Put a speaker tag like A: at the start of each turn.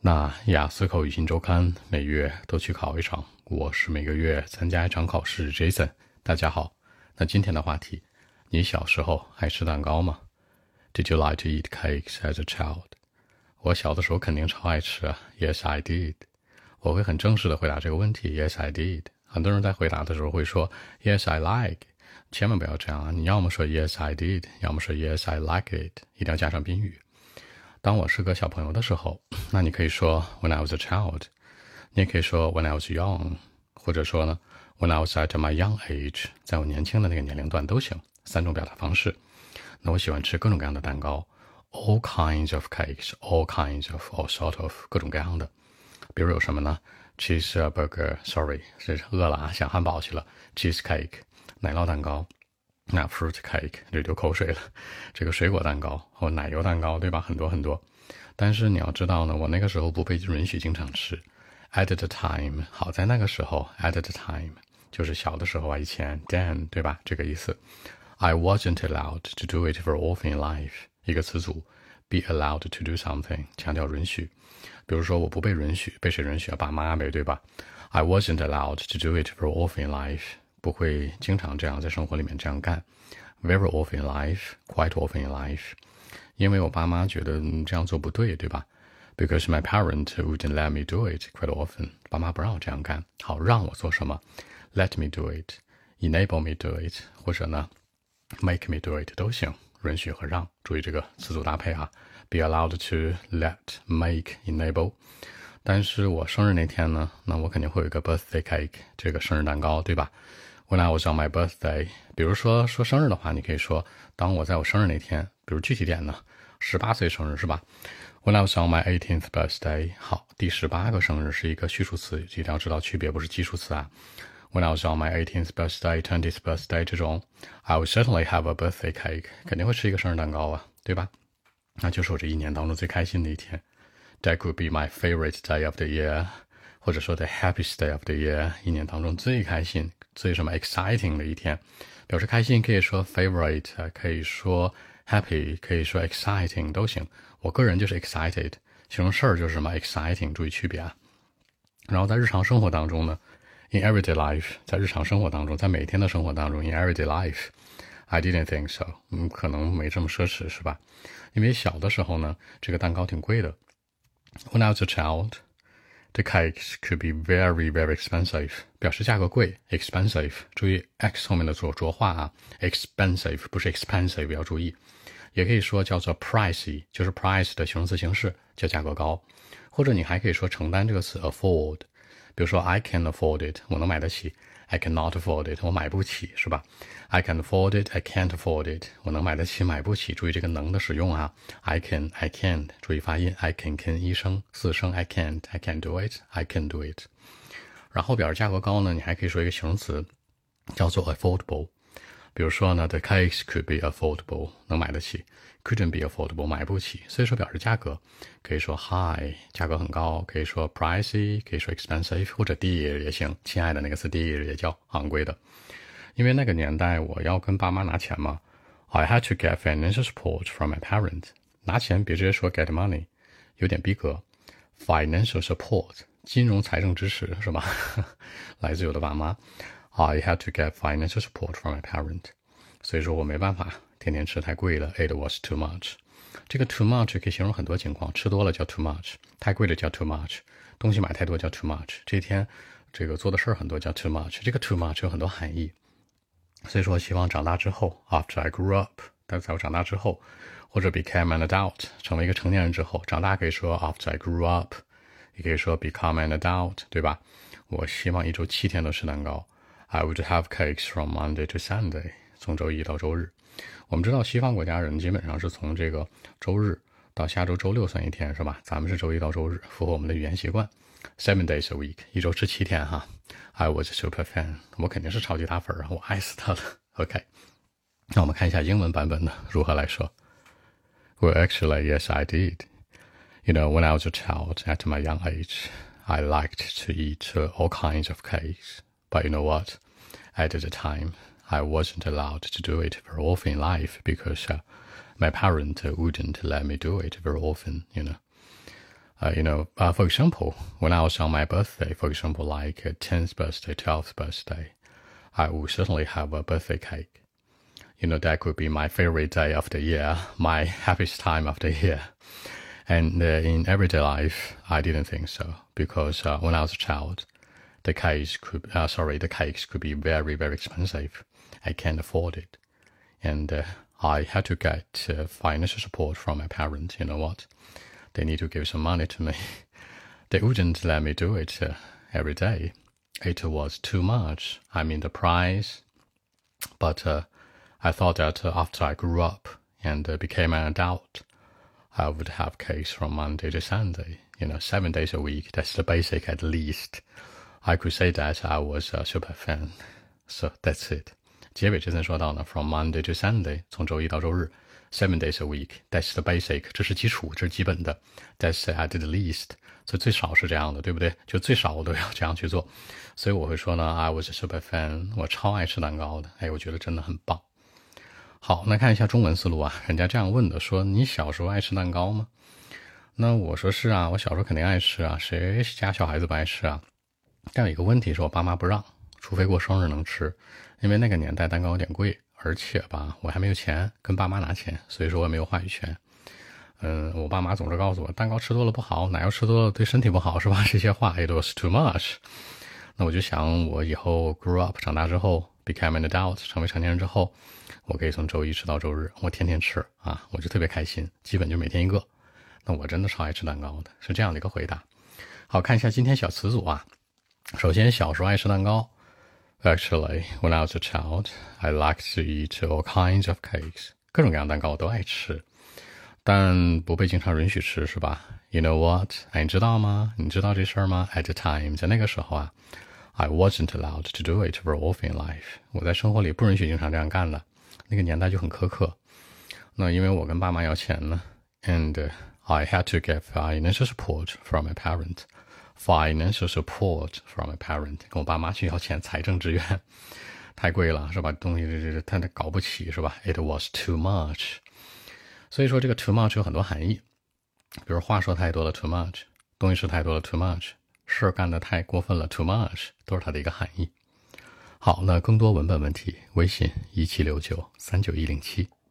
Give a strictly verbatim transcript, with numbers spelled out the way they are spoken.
A: 那雅思口语新周刊每月都去考一场，我是每个月参加一场考试 Jason。 大家好，那今天的话题，你小时候爱吃蛋糕吗？ Did you like to eat cakes as a child? 我小的时候肯定超爱吃啊 Yes, I did。 我会很正式的回答这个问题 Yes, I did。 很多人在回答的时候会说 Yes, I like。 千万不要这样啊，你要么说 Yes, I did， 要么说 Yes, I like it， 一定要加上宾语。当我是个小朋友的时候，那你可以说 When I was a child， 你也可以说 When I was young， 或者说呢 When I was at my young age， 在我年轻的那个年龄段都行，三种表达方式。那我喜欢吃各种各样的蛋糕 All kinds of cakes， All kinds of all sort of 各种各样的。比如有什么呢 Cheeseburger Sorry 是饿了啊，想汉堡去了 Cheesecake 奶酪蛋糕，那 fruit cake 就流口水了，这个水果蛋糕或奶油蛋糕，对吧？很多很多。但是你要知道呢，我那个时候不被允许经常吃。At the time， 好在那个时候 ，at the time 就是小的时候啊，以前 then 对吧？这个意思。I wasn't allowed to do it very often in life。一个词组 be allowed to do something， 强调允许。比如说我不被允许，被谁允许啊？爸妈呗，对吧？ I wasn't allowed to do it very often in life。不会经常这样在生活里面这样干 very often in life, quite often in life， 因为我爸妈觉得这样做不对，对吧？ Because my parent wouldn't let me do it quite often， 爸妈不让我这样干。好，让我做什么 let me do it， enable me do it， 或者呢 make me do it 都行，允许和让，注意这个词组搭配啊， be allowed to let make enable。但是我生日那天呢，那我肯定会有一个 birthday cake， 这个生日蛋糕，对吧？When I was on my birthday， 比如说说生日的话，你可以说当我在我生日那天，比如具体点呢，十八岁生日是吧？ When I was on my eighteenth birthday， 好，第十八个生日是一个序数词，一定要知道区别，不是基数词啊。When I was on my eighteenth birthday, twentieth birthday 这种 I will certainly have a birthday cake， 肯定会吃一个生日蛋糕啊，对吧？那就是我这一年当中最开心的一天。That could be my favorite day of the year， 或者说 the happiest day of the year， 一年当中最开心最什么 exciting 的一天。表示开心可以说 favorite， 可以说 happy， 可以说 exciting 都行。我个人就是 excited， 形容事儿就是什么 exciting， 注意区别啊。然后在日常生活当中呢 in everyday life， 在日常生活当中，在每天的生活当中 in everyday life I didn't think so， 嗯，可能没这么奢侈是吧？因为小的时候呢，这个蛋糕挺贵的。When I was a child， the cakes could be very, very expensive， 表示价格贵 expensive， 注意 x 后面的浊浊化啊 expensive 不是 expensive， 要注意。也可以说叫做 pricey， 就是 price 的形容词形式，叫价格高。或者你还可以说承担这个词 afford， 比如说 I can afford it， 我能买得起。I cannot afford it， 我买不起，是吧？ I can afford it, I can't afford it， 我能买得起，买不起。注意这个能的使用啊 I can, I can't， 注意发音 I can, can 一声，四声 I can't, I can't do it, I can do it。 然后表示价格高呢，你还可以说一个形容词叫做 affordable。 比如说呢 The cakes could be affordable， 能买得起。 Couldn't be affordable， 买不起。所以说表示价格可以说 high， 价格很高，可以说 pricey， 可以说 expensive， 或者 dear 也行，亲爱的那个词 dear 也叫昂贵的。因为那个年代我要跟爸妈拿钱嘛 I had to get financial support from my parents。 拿钱别直接说 get money， 有点逼格。 Financial support 金融财政支持是吧来自我的爸妈。 I had to get financial support from my parents， 所以说我没办法天天吃太贵了 It was too much。 这个 too much 可以形容很多情况，吃多了叫 too much， 太贵了叫 too much， 东西买太多叫 too much， 这一天这个做的事儿很多叫 too much。 这个 too much 有很多含义。所以说希望长大之后 after I grew up， 但在我长大之后，或者 became an adult 成为一个成年人之后，长大可以说 after I grew up， 也可以说 become an adult， 对吧？我希望一周七天都吃蛋糕。 I would have cakes from Monday to Sunday， 从周一到周日。我们知道西方国家人基本上是从这个周日到下周周六算一天是吧？咱们是周一到周日，符合我们的语言习惯。Seven days a week， 一周吃七天哈。I was a super fan， 我肯定是超级大粉啊，我爱死他了。OK， 那我们看一下英文版本的如何来说。Well, actually, yes, I did. You know, when I was a child, at my young age, I liked to eat uh, all kinds of cakes. But you know what? At the time, I wasn't allowed to do it very often in life because uh, my parents wouldn't let me do it very often, you know. Uh, you know, uh, for example, when I was on my birthday, for example, like uh, tenth birthday, twelfth birthday, I would certainly have a birthday cake. You know, that could be my favorite day of the year, my happiest time of the year. And uh, in everyday life, I didn't think so, because uh, when I was a child, the cakes could, uh, sorry, the cakes could be very, very expensive. I can't afford it. And uh, I had to get uh, financial support from my parents. You know what? They need to give some money to me. They wouldn't let me do it uh, every day. It was too much. I mean, the price. But uh, I thought that uh, after I grew up and uh, became an adult, I would have cakes from Monday to Sunday. You know, seven days a week. That's the basic at least. I could say that I was a super fan. So that's it. 结尾这层说到呢 ，from Monday to Sunday， 从周一到周日 ，seven days a week。That's the basic， 这是基础，这是基本的。That's at the least， 所以最少是这样的，对不对？就最少我都要这样去做。所以我会说呢 ，I was a super fan， 我超爱吃蛋糕的。哎，我觉得真的很棒。好，那看一下中文思路啊，人家这样问的，说你小时候爱吃蛋糕吗？那我说是啊，我小时候肯定爱吃啊，谁家小孩子不爱吃啊？但有一个问题是我爸妈不让，除非过生日能吃，因为那个年代蛋糕有点贵，而且吧，我还没有钱跟爸妈拿钱，所以说我也没有话语权。嗯，我爸妈总是告诉我，蛋糕吃多了不好，奶油吃多了对身体不好，是吧？这些话 it was too much。那我就想，我以后 grew up 长大之后 became an adult 成为成年人之后，我可以从周一吃到周日，我天天吃啊，我就特别开心，基本就每天一个。那我真的超爱吃蛋糕的，是这样的一个回答。好，看一下今天小词组啊。首先，小时候爱吃蛋糕。Actually, when I was a child, I liked to eat all kinds of cakes. 各种各样的蛋糕我都爱吃，但不被经常允许吃，是吧 ？You know what? 哎，你知道吗？你知道这事儿吗 ？At the time， 在那个时候啊 ，I wasn't allowed to do it very often in life. 我在生活里不允许经常这样干的，那个年代就很苛刻。那因为我跟爸妈要钱呢 ，and、uh, I had to get financial support from my parent.Financial support from a parent， 跟我爸妈去要钱，财政支援，太贵了，是吧？东西这这他搞不起，是吧 ？It was too much。所以说这个 too much 有很多含义，比如话说太多了 too much， 东西吃太多了 too much， 事干得太过分了 too much， 都是它的一个含义。好，那更多文本问题，微信一七六九三九一零七。